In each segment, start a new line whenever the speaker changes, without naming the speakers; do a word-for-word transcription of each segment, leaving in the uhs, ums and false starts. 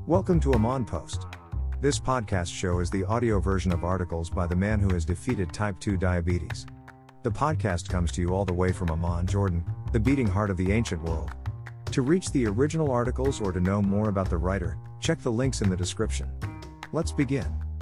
Welcome to Amon Post. This podcast show is the audio version of articles by the man who has defeated type two diabetes. The podcast comes to you all the way from Amman, Jordan, the beating heart of the ancient world. To reach the original articles or to know more about the writer, check the links in the description. Let's begin.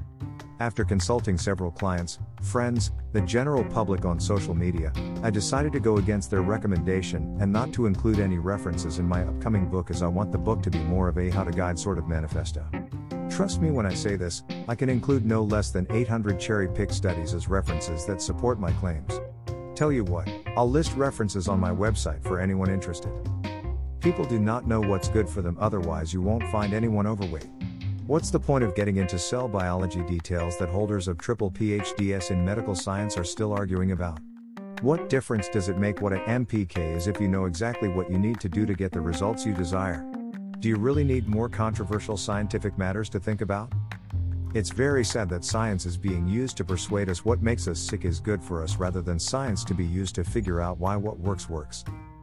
After consulting several clients, friends, the general public on social media, I decided to go against their recommendation and not to include any references in my upcoming book, as I want the book to be more of a how-to-guide sort of manifesto. Trust me when I say this, I can include no less than eight hundred cherry-picked studies as references that support my claims. Tell you what, I'll list references on my website for anyone interested. People do not know what's good for them, otherwise you won't find anyone overweight. What's the point of getting into cell biology details that holders of triple P H Ds in medical science are still arguing about? What difference does it make what an M P K is if you know exactly what you need to do to get the results you desire? Do you really need more controversial scientific matters to think about? It's very sad that science is being used to persuade us what makes us sick is good for us, rather than science to be used to figure out why what works works.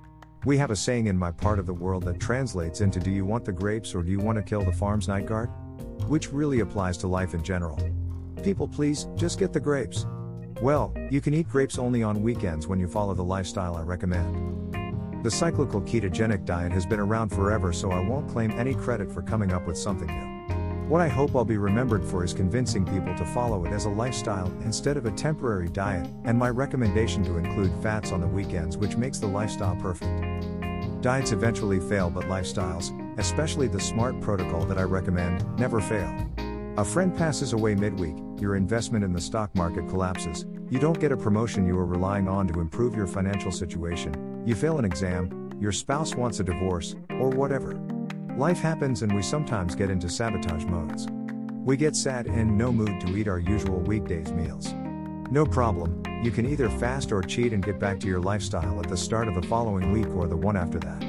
We have a saying in my part of the world that translates into, do you want the grapes or do you want to kill the farm's night guard? Which really applies to life in general. People please, just get the grapes. Well, you can eat grapes only on weekends when you follow the lifestyle I recommend. The cyclical ketogenic diet has been around forever, so I won't claim any credit for coming up with something new. What I hope I'll be remembered for is convincing people to follow it as a lifestyle instead of a temporary diet, and my recommendation to include fats on the weekends, which makes the lifestyle perfect. Diets eventually fail, but lifestyles, especially the SMART protocol that I recommend, never fail. A friend passes away midweek, your investment in the stock market collapses, you don't get a promotion you were relying on to improve your financial situation, you fail an exam, your spouse wants a divorce, or whatever. Life happens and we sometimes get into sabotage modes. We get sad and in no mood to eat our usual weekdays meals. No problem, you can either fast or cheat and get back to your lifestyle at the start of the following week or the one after that.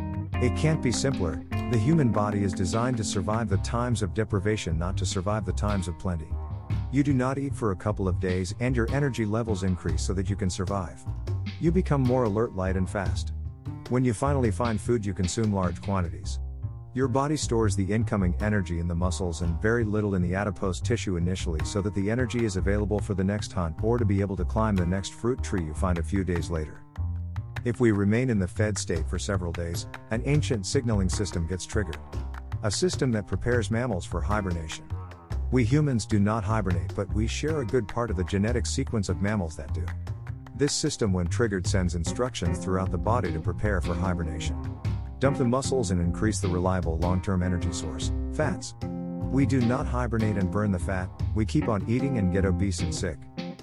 It can't be simpler. The human body is designed to survive the times of deprivation, not to survive the times of plenty. You do not eat for a couple of days and your energy levels increase so that you can survive. You become more alert, light and fast. When you finally find food, you consume large quantities. Your body stores the incoming energy in the muscles and very little in the adipose tissue initially, so that the energy is available for the next hunt or to be able to climb the next fruit tree you find a few days later. If we remain in the fed state for several days, an ancient signaling system gets triggered. A system that prepares mammals for hibernation. We humans do not hibernate, but we share a good part of the genetic sequence of mammals that do. This system, when triggered, sends instructions throughout the body to prepare for hibernation. Dump the muscles and increase the reliable long-term energy source, fats. We do not hibernate and burn the fat, we keep on eating and get obese and sick.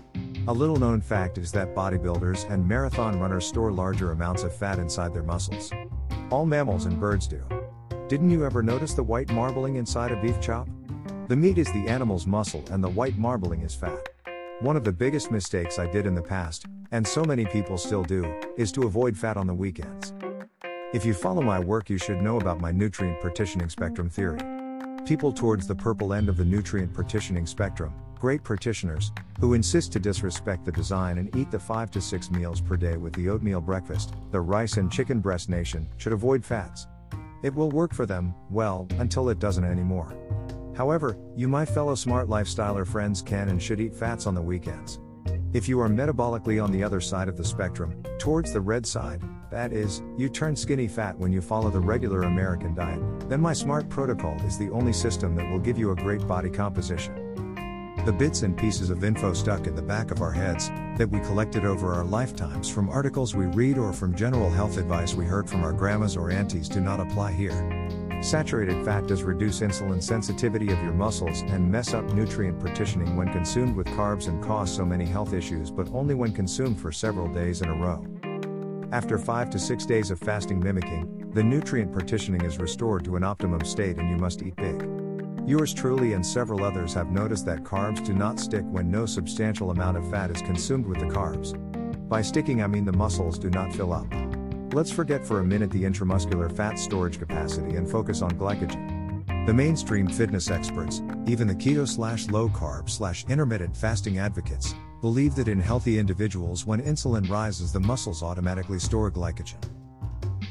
A little known fact is that bodybuilders and marathon runners store larger amounts of fat inside their muscles. All mammals and birds do. Didn't you ever notice the white marbling inside a beef chop? The meat is the animal's muscle and the white marbling is fat. One of the biggest mistakes I did in the past, and so many people still do, is to avoid fat on the weekends. If you follow my work, you should know about my nutrient partitioning spectrum theory. People towards the purple end of the nutrient partitioning spectrum, great partitioners, who insist to disrespect the design and eat the five to six meals per day with the oatmeal breakfast, the rice and chicken breast nation, should avoid fats. It will work for them, well, until it doesn't anymore. However, you, my fellow smart lifestyler friends, can and should eat fats on the weekends. If you are metabolically on the other side of the spectrum, towards the red side, that is, you turn skinny fat when you follow the regular American diet, then my SMART protocol is the only system that will give you a great body composition. The bits and pieces of info stuck in the back of our heads, that we collected over our lifetimes from articles we read or from general health advice we heard from our grandmas or aunties, do not apply here. Saturated fat does reduce insulin sensitivity of your muscles and mess up nutrient partitioning when consumed with carbs and cause so many health issues, but only when consumed for several days in a row. After five to six days of fasting mimicking, the nutrient partitioning is restored to an optimum state and you must eat big. Yours truly and several others have noticed that carbs do not stick when no substantial amount of fat is consumed with the carbs. By sticking, I mean the muscles do not fill up. Let's forget for a minute the intramuscular fat storage capacity and focus on glycogen. The mainstream fitness experts, even the keto slash low carb slash intermittent fasting advocates, believe that in healthy individuals, when insulin rises, the muscles automatically store glycogen.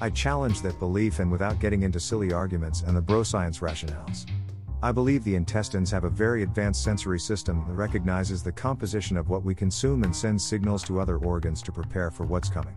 I challenge that belief, and without getting into silly arguments and the bro science rationales. I believe the intestines have a very advanced sensory system that recognizes the composition of what we consume and sends signals to other organs to prepare for what's coming.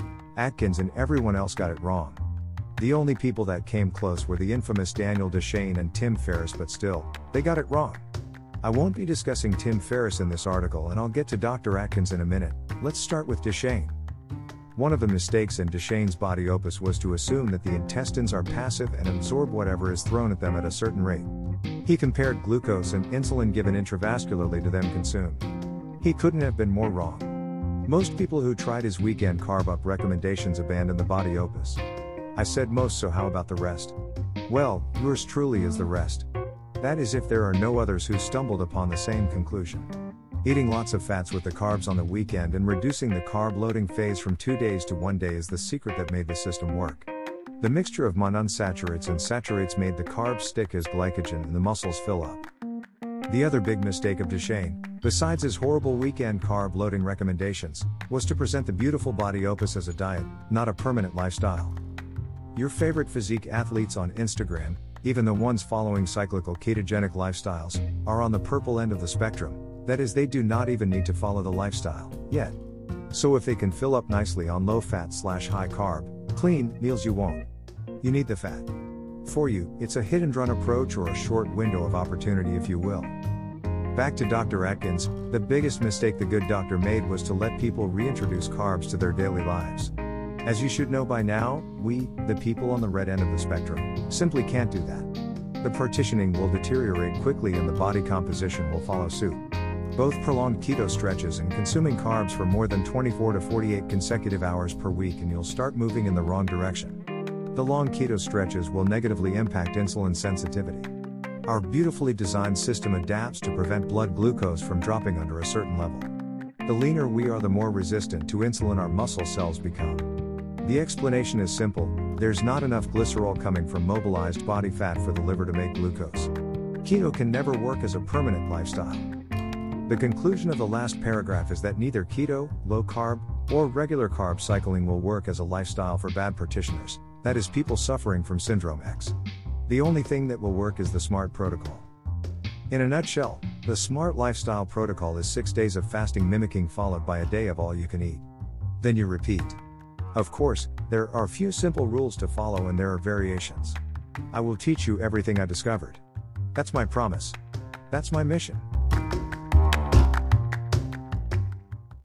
Atkins and everyone else got it wrong. The only people that came close were the infamous Daniel Dechaine and Tim Ferriss, but still, they got it wrong. I won't be discussing Tim Ferriss in this article, and I'll get to Doctor Atkins in a minute. Let's start with Dechaine. One of the mistakes in Dechaine's body opus was to assume that the intestines are passive and absorb whatever is thrown at them at a certain rate. He compared glucose and insulin given intravascularly to them consumed. He couldn't have been more wrong. Most people who tried his weekend carb up recommendations abandoned the body opus. I said most, so how about the rest? Well, yours truly is the rest. That is, if there are no others who stumbled upon the same conclusion. Eating lots of fats with the carbs on the weekend and reducing the carb loading phase from two days to one day is the secret that made the system work. The mixture of monounsaturates and saturates made the carbs stick as glycogen and the muscles fill up. The other big mistake of Dechaine, besides his horrible weekend carb loading recommendations, was to present the beautiful body opus as a diet, not a permanent lifestyle. Your favorite physique athletes on Instagram, even the ones following cyclical ketogenic lifestyles, are on the purple end of the spectrum. That is, they do not even need to follow the lifestyle yet. So if they can fill up nicely on low fat slash high carb, clean meals, you won't. You need the fat. For you, it's a hit and run approach, or a short window of opportunity, if you will. Back to Doctor Atkins, the biggest mistake the good doctor made was to let people reintroduce carbs to their daily lives. As you should know by now, we, the people on the red end of the spectrum, simply can't do that. The partitioning will deteriorate quickly and the body composition will follow suit. Both prolonged keto stretches and consuming carbs for more than twenty-four to forty-eight consecutive hours per week, and you'll start moving in the wrong direction. The long keto stretches will negatively impact insulin sensitivity. Our beautifully designed system adapts to prevent blood glucose from dropping under a certain level. The leaner we are, the more resistant to insulin our muscle cells become. The explanation is simple: there's not enough glycerol coming from mobilized body fat for the liver to make glucose. Keto can never work as a permanent lifestyle. The conclusion of the last paragraph is that neither keto, low carb, or regular carb cycling will work as a lifestyle for bad partitioners, that is, people suffering from Syndrome X. The only thing that will work is the SMART protocol. In a nutshell, the SMART lifestyle protocol is six days of fasting mimicking followed by a day of all you can eat. Then you repeat. Of course, there are a few simple rules to follow and there are variations. I will teach you everything I discovered. That's my promise. That's my mission.